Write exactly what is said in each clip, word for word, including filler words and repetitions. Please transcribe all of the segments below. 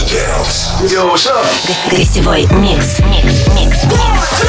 Yo, what's up? Гостевой микс. Микс, микс, микс.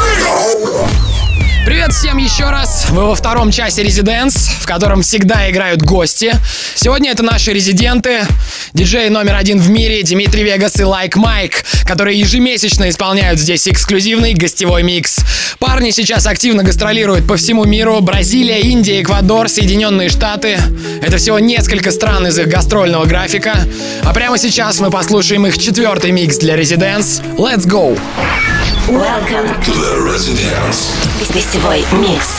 Привет всем еще раз. Вы во втором часе Residence, в котором всегда играют гости. Сегодня это наши резиденты, диджей номер один в мире Дмитрий Вегас и Like Mike, которые ежемесячно исполняют здесь эксклюзивный гостевой микс. Парни сейчас активно гастролируют по всему миру. Бразилия, Индия, Эквадор, Соединенные Штаты. Это всего несколько стран из их гастрольного графика. А прямо сейчас мы послушаем их четвертый микс для Residence. Let's go! Welcome To the Residence. Гостевой микс.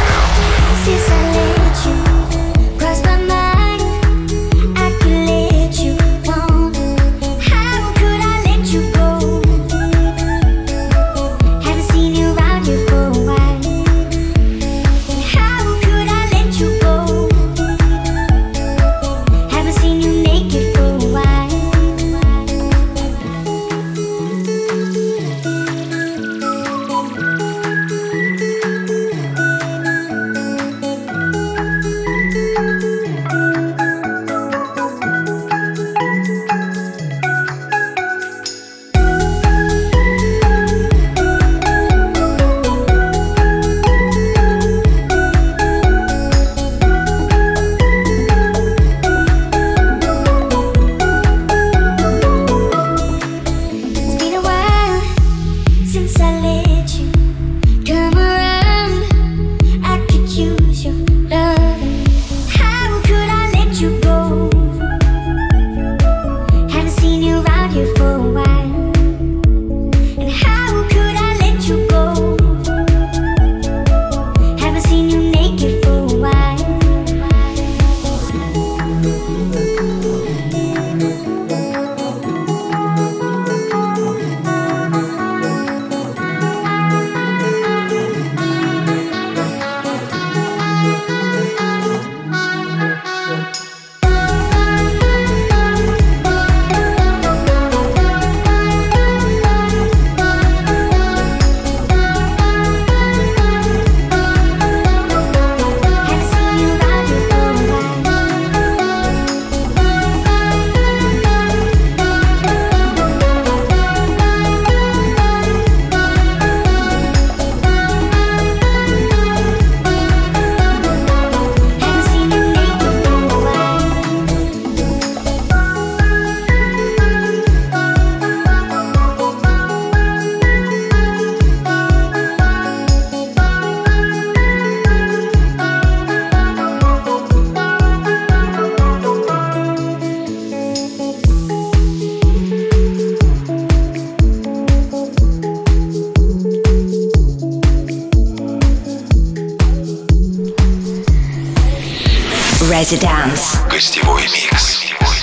Residence. Гостевой микс.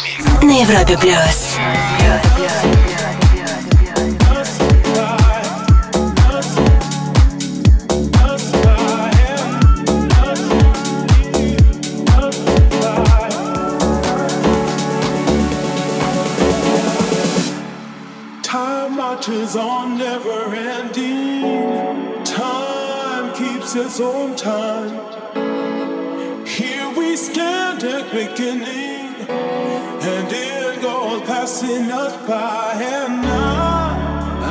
На Европе плюс. Time marches on, never ending. Time keeps its own time. Here we stand at beginning, and it goes passing us by. And I,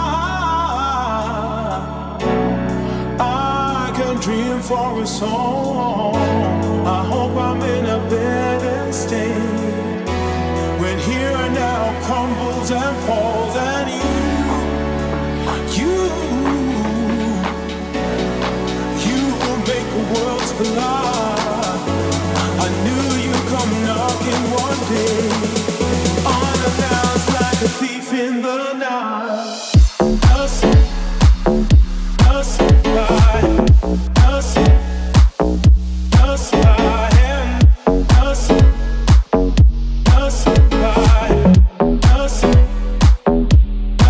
I, I can dream for a song. I hope I'm in a better state when here and now crumbles and falls, and you, you, you will make the worlds collide. I knew you'd come knocking one day, unannounced like a thief in the night. Us, us by, us, us by, and us, us by, us,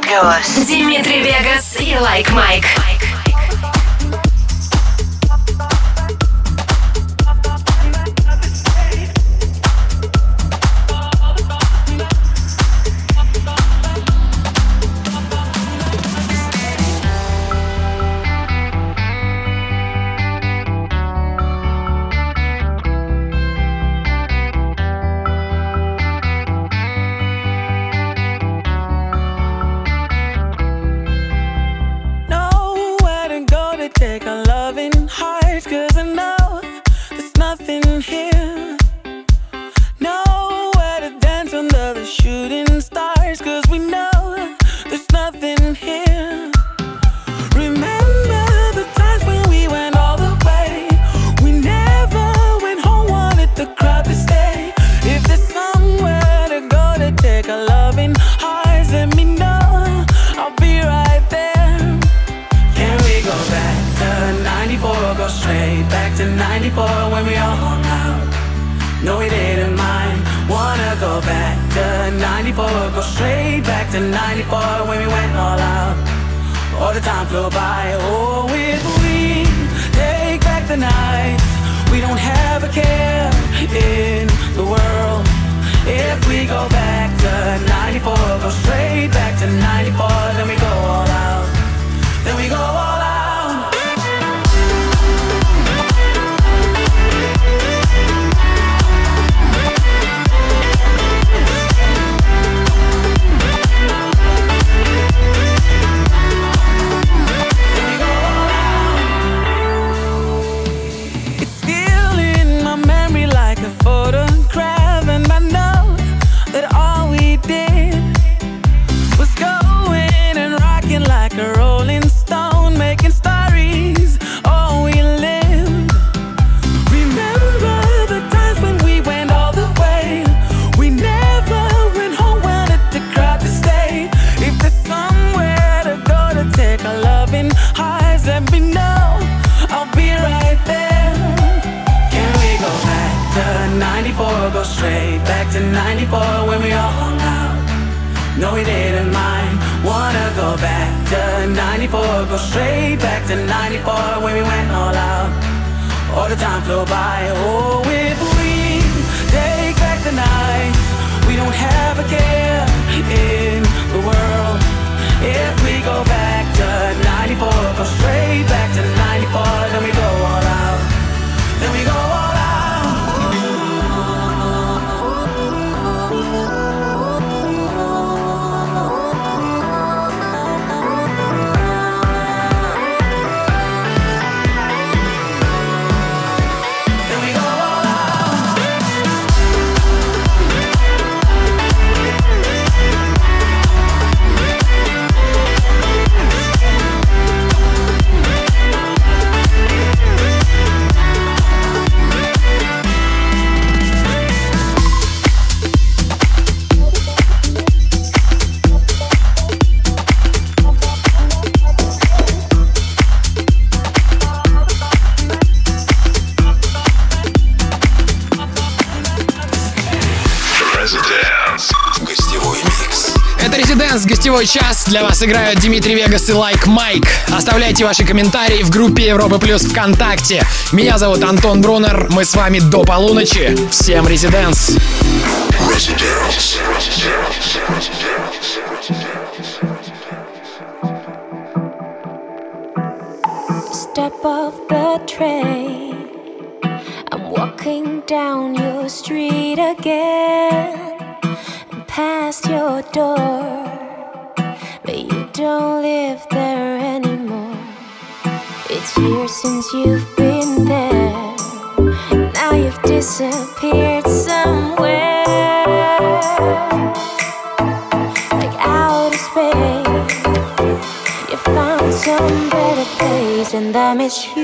плюс. Димитри Вегас и Like Mike. Гостевой час. Для вас играют Димитри Вегас и Like Mike. Оставляйте ваши комментарии в группе Европа Плюс ВКонтакте. Меня зовут Антон Брунер. Мы с вами до полуночи. Всем резиденс. Step off the train. I'm walking down your street again. Past your door. But you don't live there anymore. It's years since you've been there. Now you've disappeared somewhere, like outer space. You found some better place, and I miss you.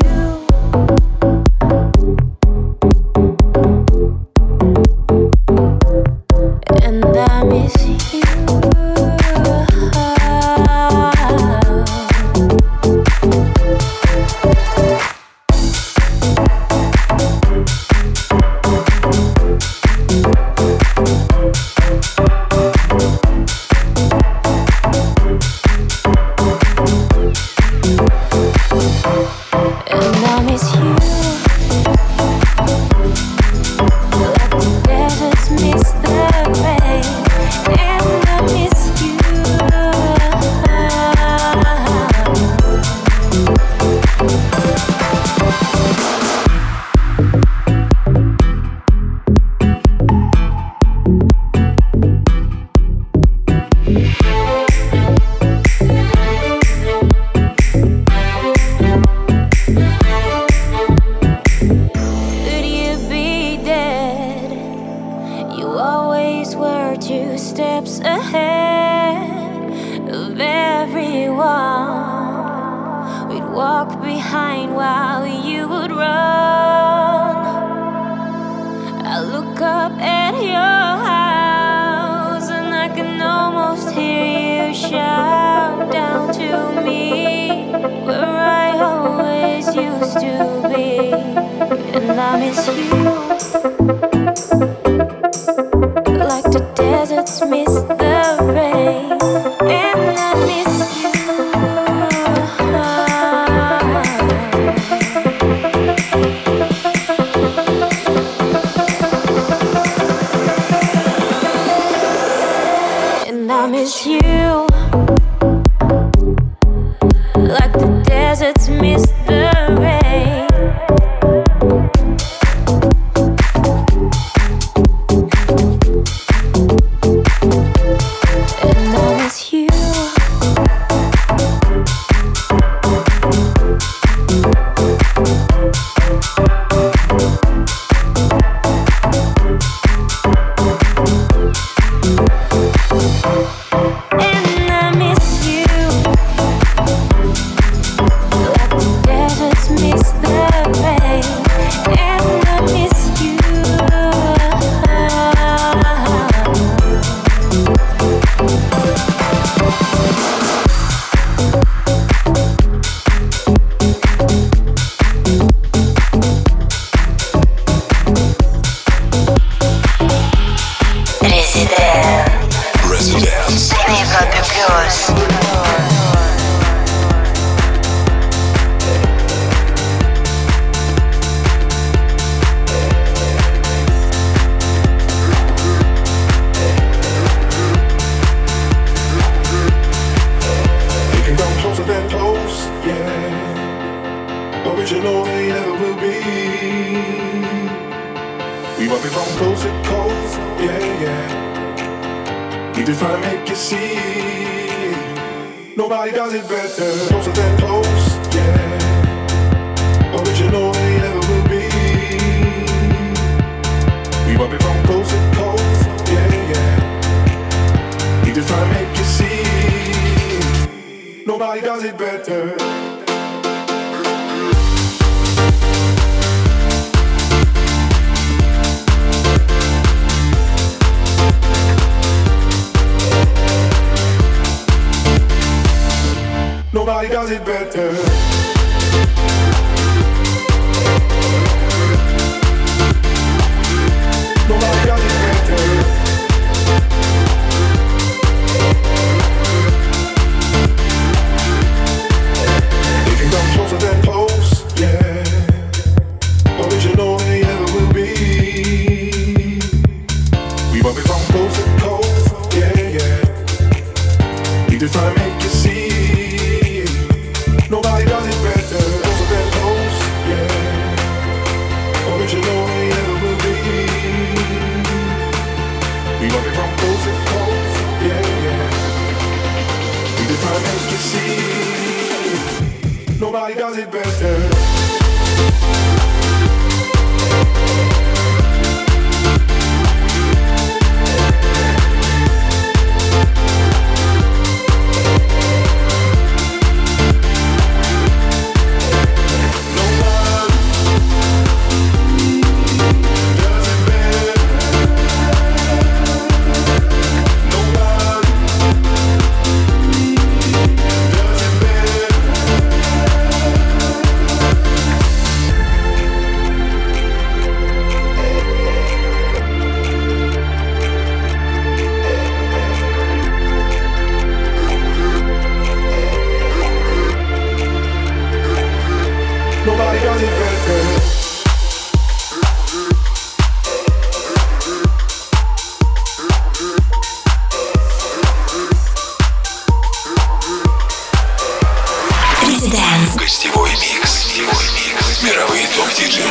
Мировые топ-диджеи.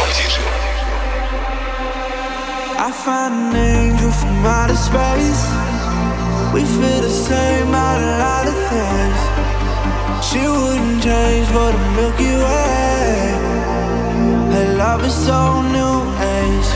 I find an angel from outer space. We feel the same about a lot of things. She wouldn't change for the Milky Way. Her love is so new age.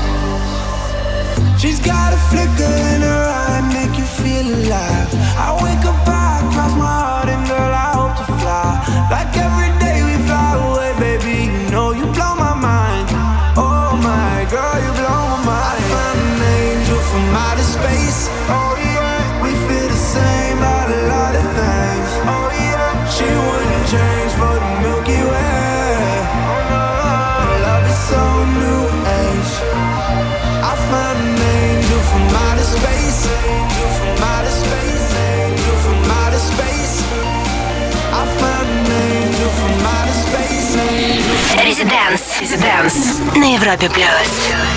She's got a flicker in her eye, make you feel alive. I wake up, I cross my heart, and girl, I hope to fly. Like every day we fly away, baby, you know you blow my mind. Oh my girl, you blow my mind. I found an angel from outer space. Oh yeah, we feel the same about a lot of things. Oh yeah, she wouldn't change for the Milky Way. Her love is so new age. I found an angel from outer space. Angel from outer space. Angel from outer space. I found an angel from outer space. Residence. Residence. На Европе плюс.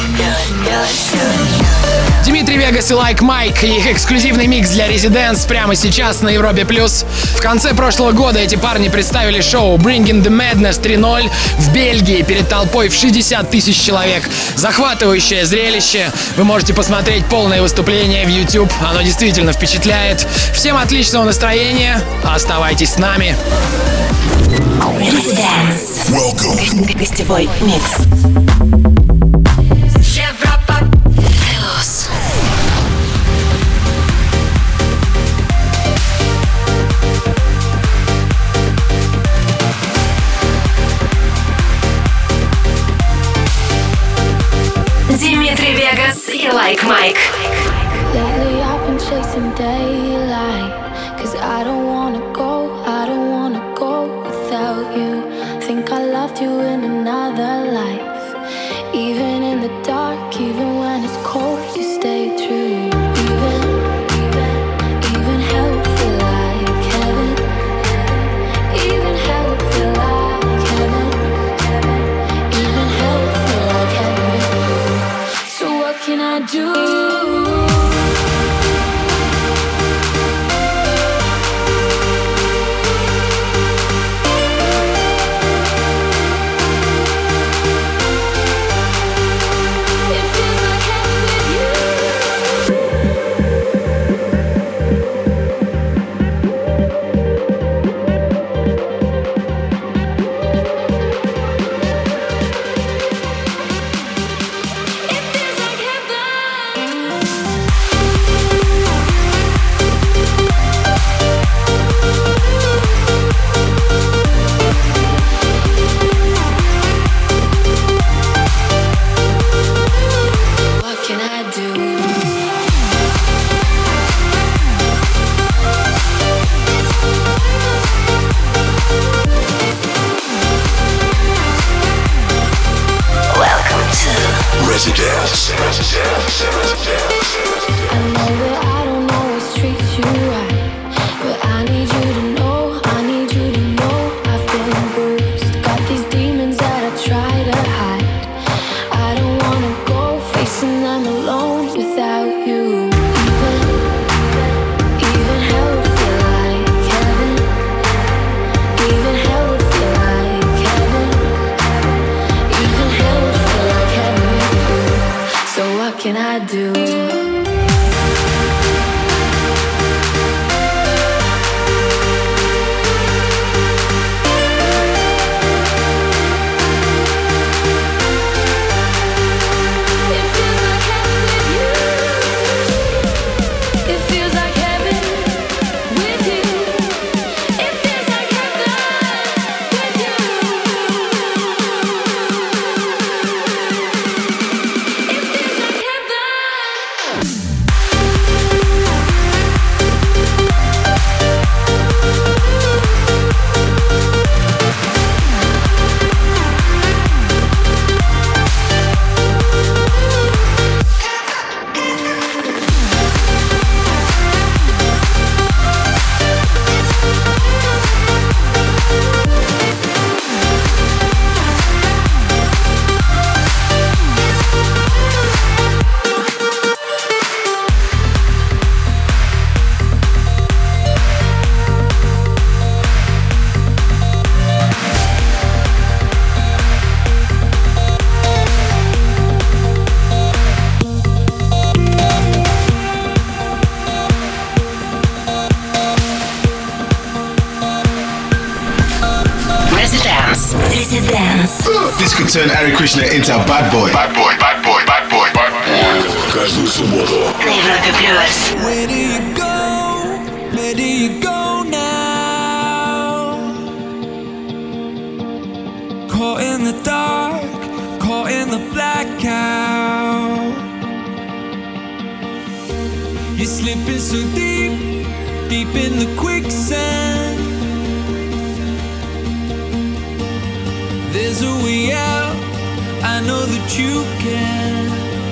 Димитри Вегас и Like Mike и их эксклюзивный микс для Residence прямо сейчас на Европе плюс. В конце прошлого года эти парни представили шоу Bringing the Madness три ноль в Бельгии перед толпой в шестьдесят тысяч человек. Захватывающее зрелище. Вы можете посмотреть полное выступление в YouTube. Оно действительно впечатляет. Всем отличного настроения. Оставайтесь с нами. Residence. Welcome. Гостевой микс. Европа плюс. Димитри Вегас и Like Mike. Lately I've been chasing daylight, 'cause I don't wanna go, I don't wanna go without you. Think I loved you in another life. Even in the dark, even when it's cold, you stay true. Even, even, even hell would feel like heaven. Even hell would feel like heaven. Even hell would feel like heaven. So what can I do? Residence. I know that I don't always treat you right, but I need you to know, I need you to know I've been bruised. Got these demons that I try to hide. I don't wanna go facing them alone without you. Even, even hell would feel like heaven. Even hell would feel like heaven. Even hell would feel like heaven with you. So what can I do? This could turn Hare Krishna into a bad boy. Bad boy, bad boy, bad boy, bad boy. Каждую субботу. На Европе плюс. Where do you go? Where do you go now? Caught in the dark, caught in the blackout. You're slipping so deep, deep in the quicksand. There's a way out, I know that you can.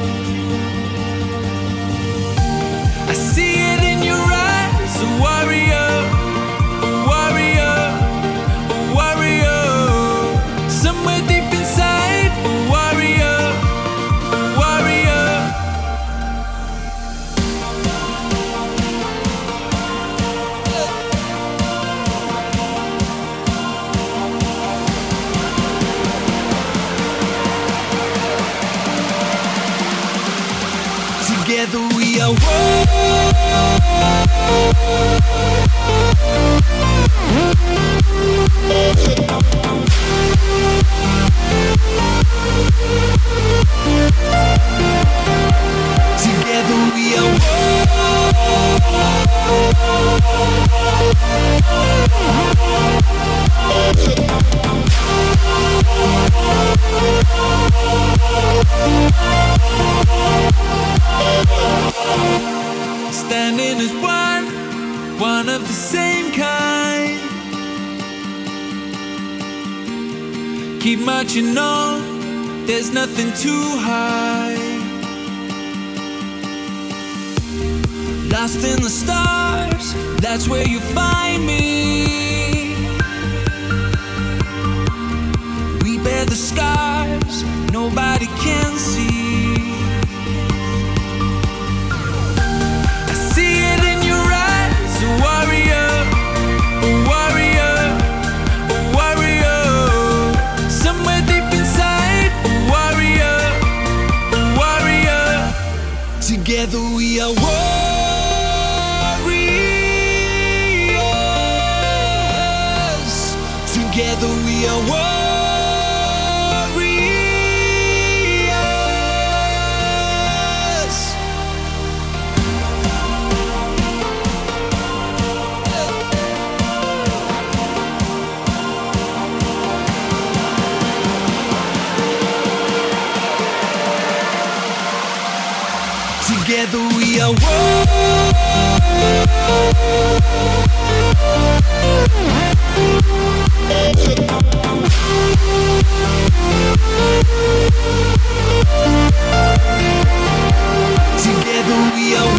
I see it in your eyes, a warrior, a warrior, a warrior. Somewhere deep inside, a warrior, a warrior. Together we are one. Together we are standing as one, one of the same kind. Keep marching on, there's nothing too high. Lost in the stars, that's where you find me. We bear the scars, nobody can see. A warrior, a warrior, a warrior. Somewhere deep inside, a warrior, a warrior. Together we are warriors. Together we are warriors. Together we are one. Together we are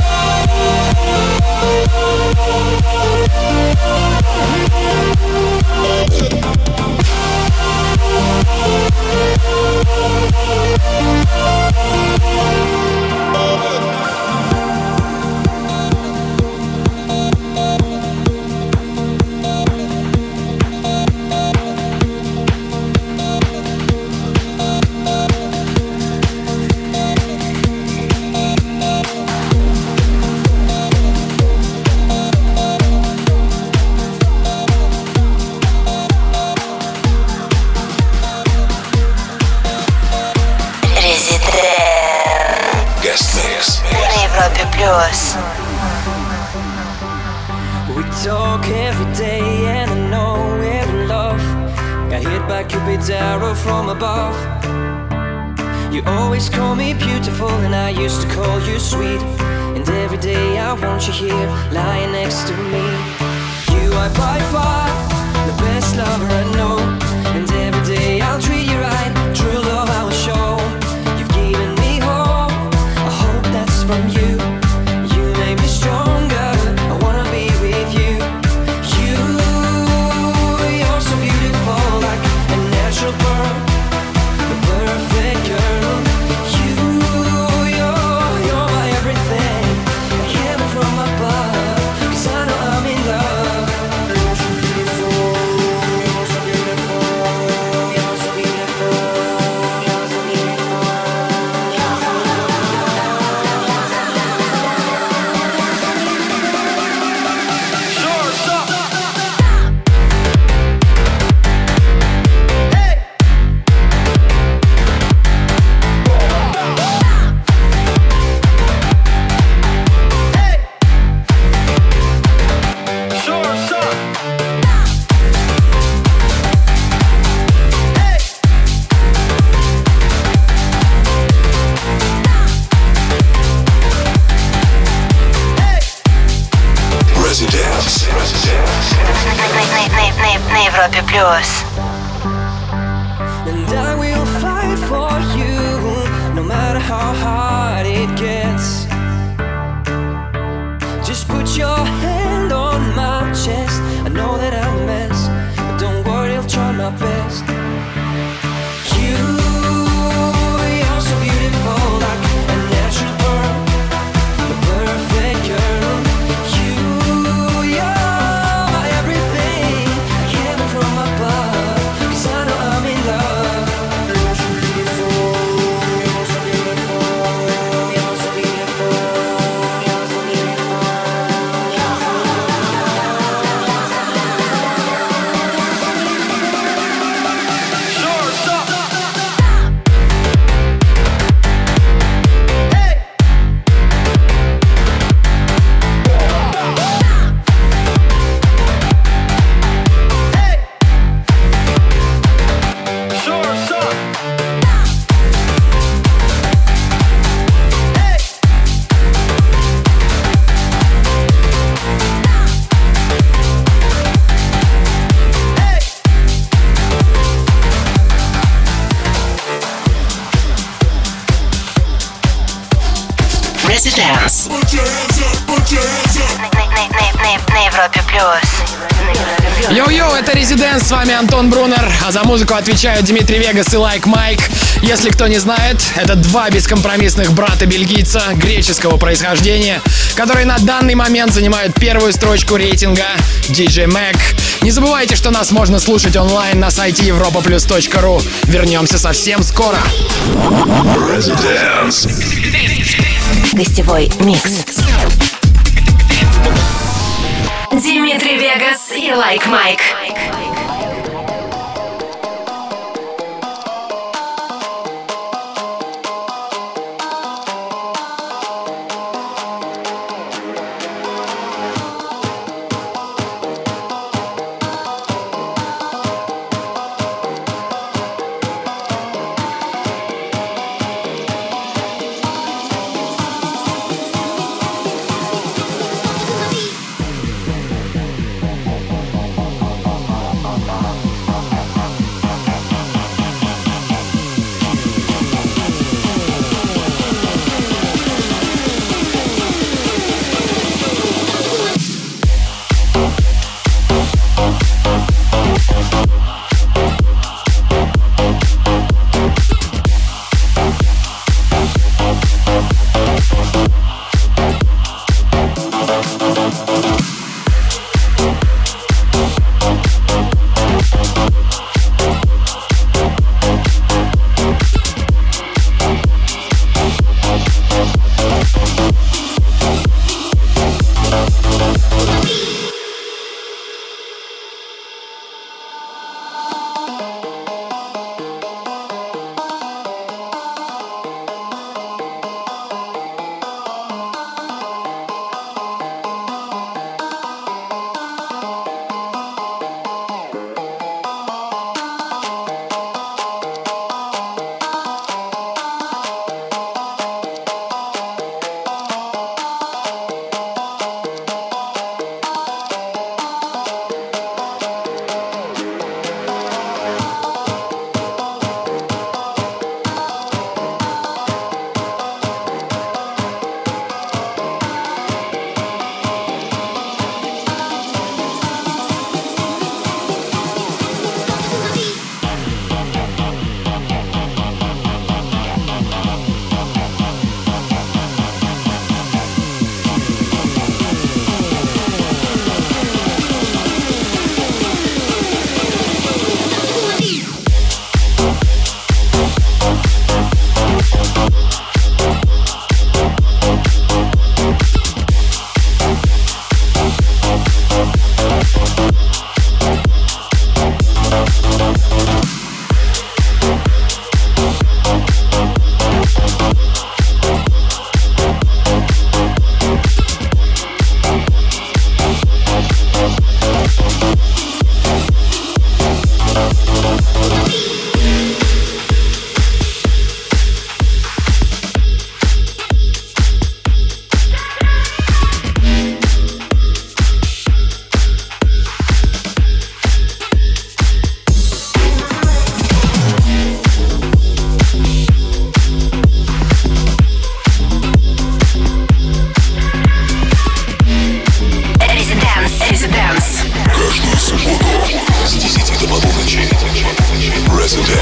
We talk every day and I know we're in love. Got hit by Cupid's arrow from above. You always call me beautiful and I used to call you sweet. And every day I want you here, lying next to me. You are by far the best lover I know. And every day I'll treat you right, true love I will show. You've given me hope, I hope that's from you. Make me stronger, I wanna be with you. You, you're so beautiful, like a natural pearl, the perfect girl. You, you're, you're my everything, a heaven from above, 'cause I know I'm in love. matter how hard it gets. Just put your hand on my chest. I know that I'm a mess, but don't worry, I'll try my best. You, you're so beautiful, like a natural pearl, the perfect girl. You, you're my everything, like heaven from above, 'cause I know I'm in love. You're so beautiful, you're so beautiful, you're so beautiful, you're so beautiful. Residence. На Европе плюс. Йоу-йоу, это Residence, с вами Антон Брунер, а за музыку отвечают Дмитрий Вегас и Like Mike. Если кто не знает, это два бескомпромиссных брата-бельгийца греческого происхождения, которые на данный момент занимают первую строчку рейтинга ди джей Mag. Не забывайте, что нас можно слушать онлайн на сайте европа плюс точка ру. Вернемся совсем скоро. Residence. Гостевой микс. Дмитрий Вегас и Like Mike. All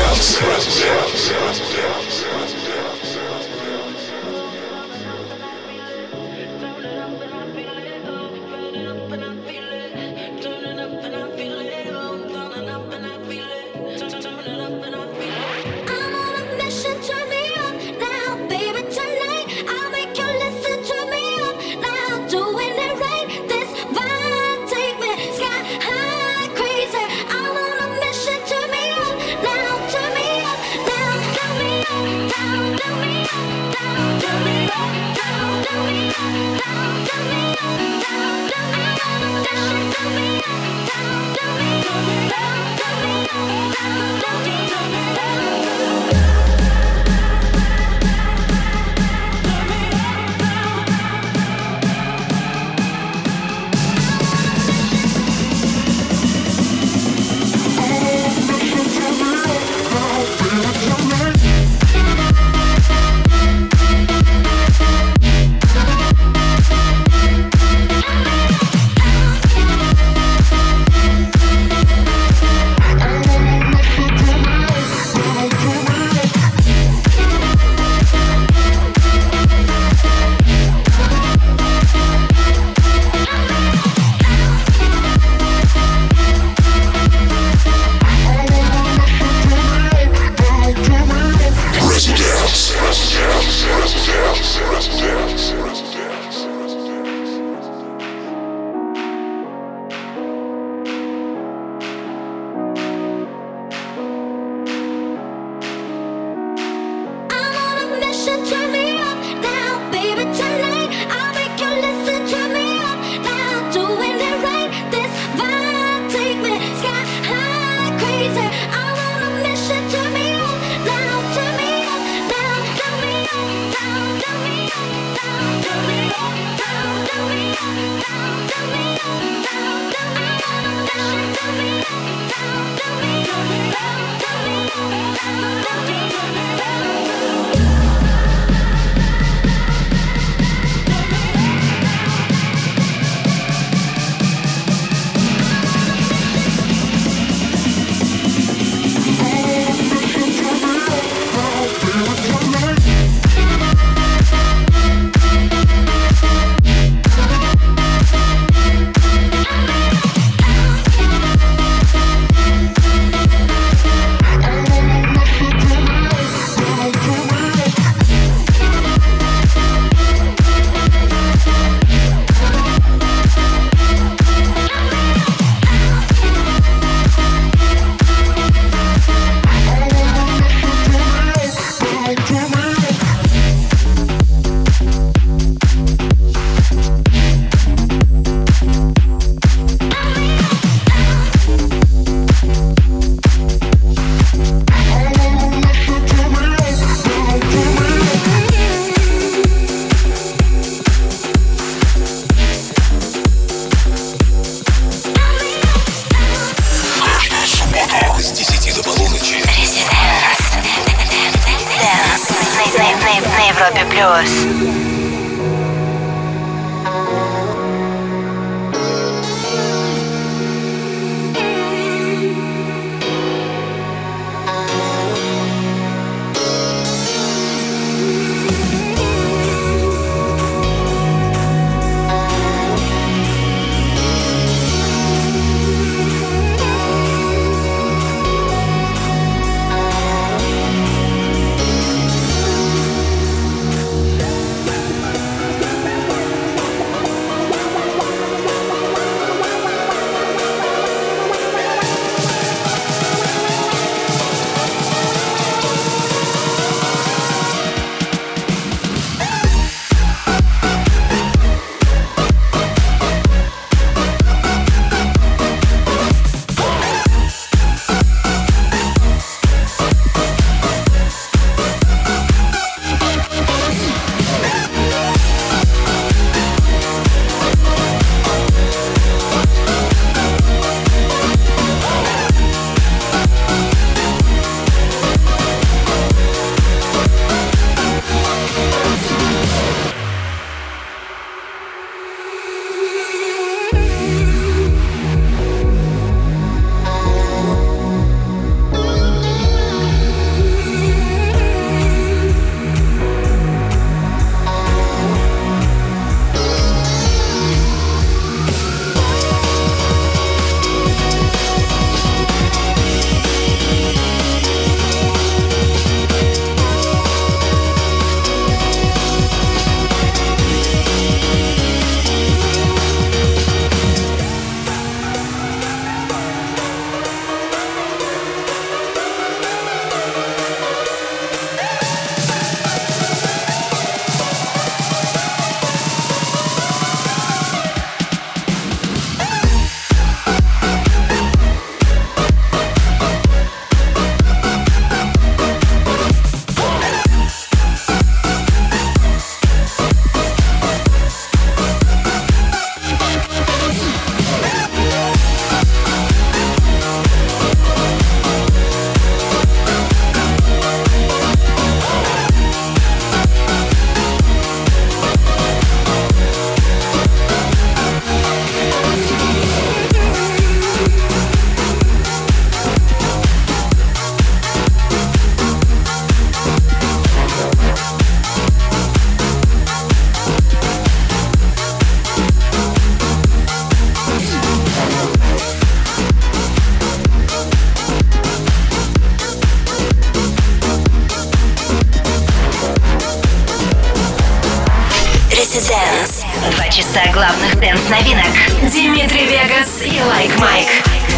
Residence. Два часа главных дэнс-новинок. Димитри Вегас и Лайк Майк.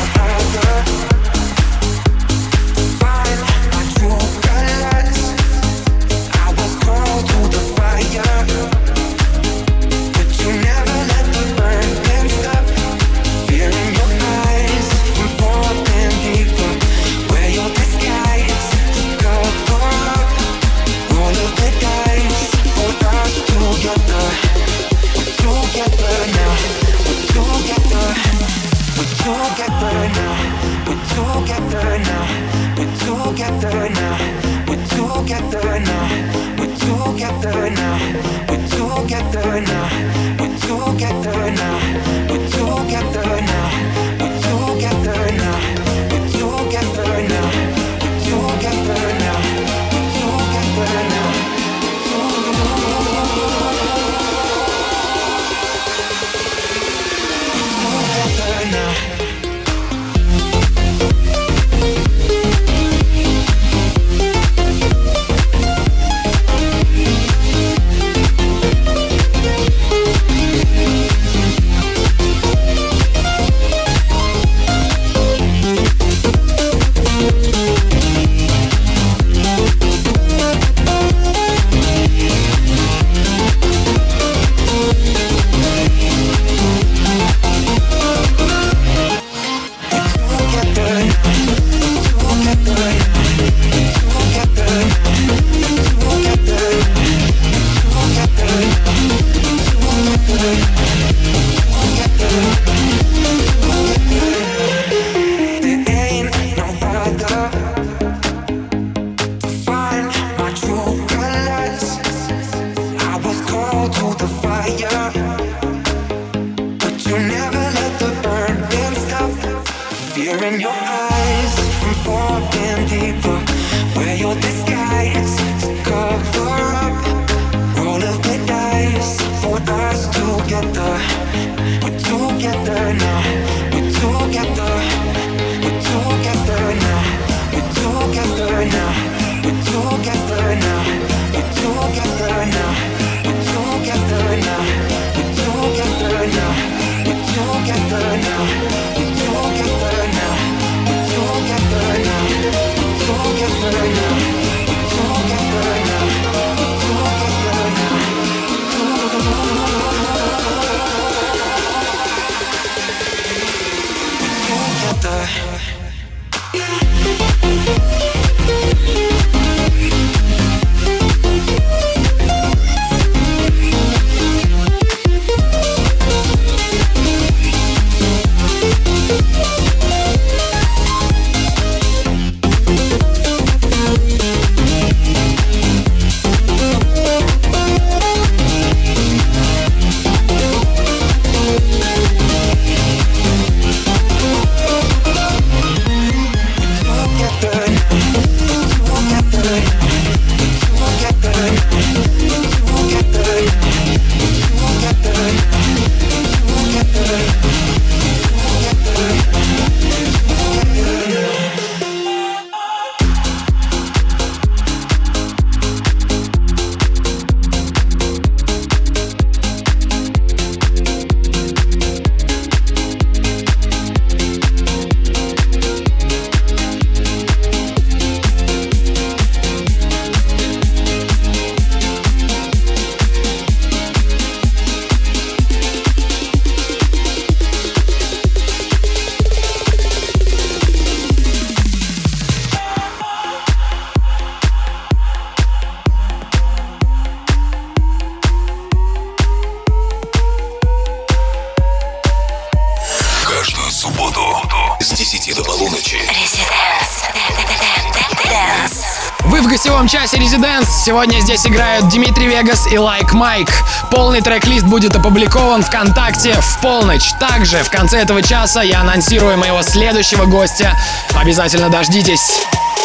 Вы в гостевом часе Residence. Сегодня здесь играют Димитри Вегас и Лайк Майк. Полный трек-лист будет опубликован ВКонтакте в полночь. Также в конце этого часа я анонсирую моего следующего гостя. Обязательно дождитесь.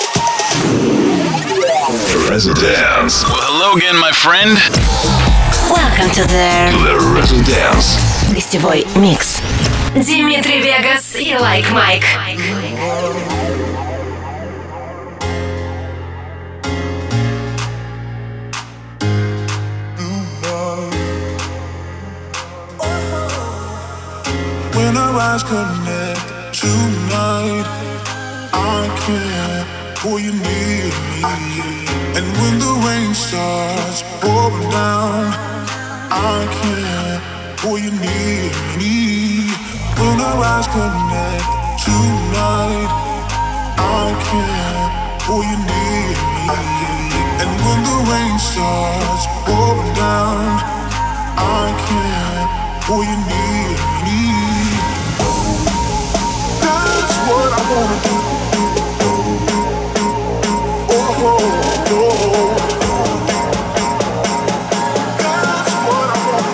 Residence. Well, hello again, my friend. Welcome to the, To the Residence. гостевой микс. Димитри Вегас и Лайк Майк. eyes connect tonight, I can't pull you near me. And when the rain starts pouring down, I can't pull you near me. When our eyes connect tonight, I can't pull you near me. And when the rain starts pouring down, I can't pull you near me. That's what I wanna do. Oh, oh, oh. That's what I wanna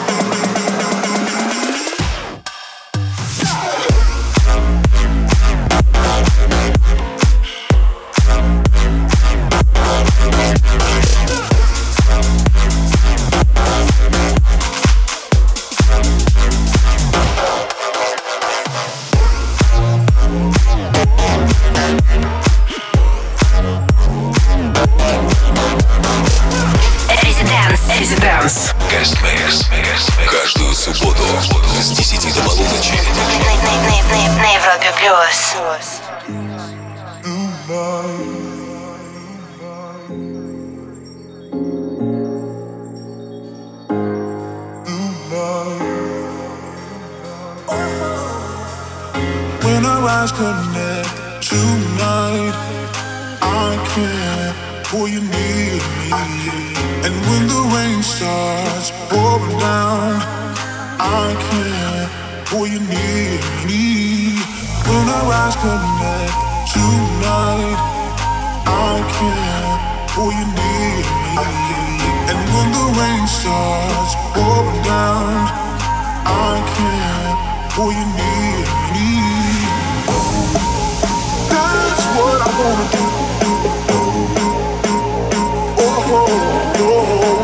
Guest Mix. Каждую субботу с десяти до полуночи На Европе Плюс. When our eyes connect tonight, I can't pull you near me. And when the rain starts pouring down, I can't pull you near me. When our eyes connect tonight, I can't pull you near me. And when the rain starts pouring down, I can't pull you near me. That's what I wanna do. Oh, oh, oh.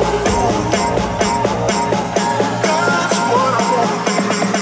That's what I wanna do.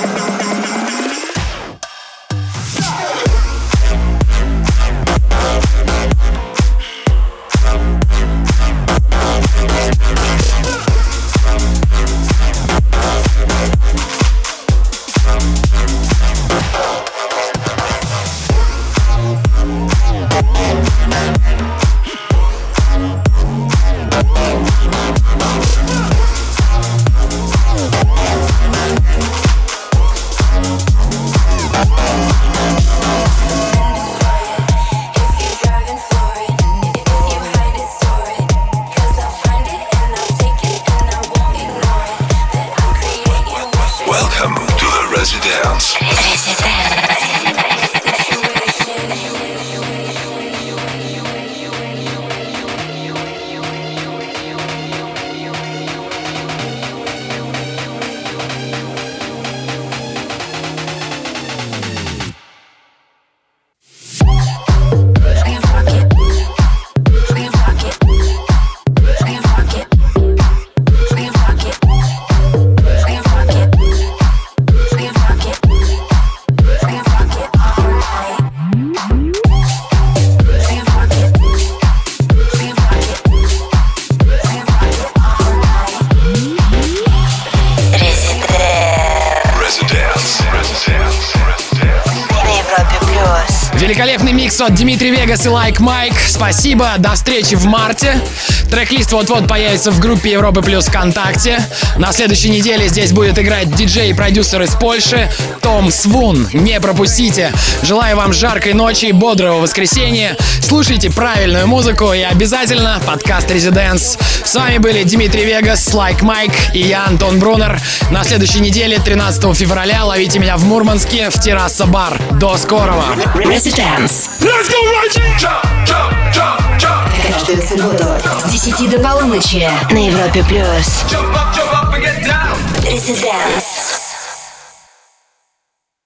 Великолепный микс от Дмитрий Вегас и Like Mike. Спасибо, до встречи в марте. Трек-лист вот-вот появится в группе Европы Плюс ВКонтакте. На следующей неделе здесь будет играть диджей и продюсер из Польши Том Свун. Не пропустите. Желаю вам жаркой ночи и бодрого воскресенья. Слушайте правильную музыку и обязательно подкаст Residence. С вами были Дмитрий Вегас, Like Mike и я, Антон Брунер. На следующей неделе, тринадцатого февраля, ловите меня в Мурманске в Терраса Бар. До скорого. Residence. Let's go, Reggie! Jump, jump, jump, jump. Каждую субботу с десяти до полуночи на Европе Плюс. Jump up, jump up and get down. Residence.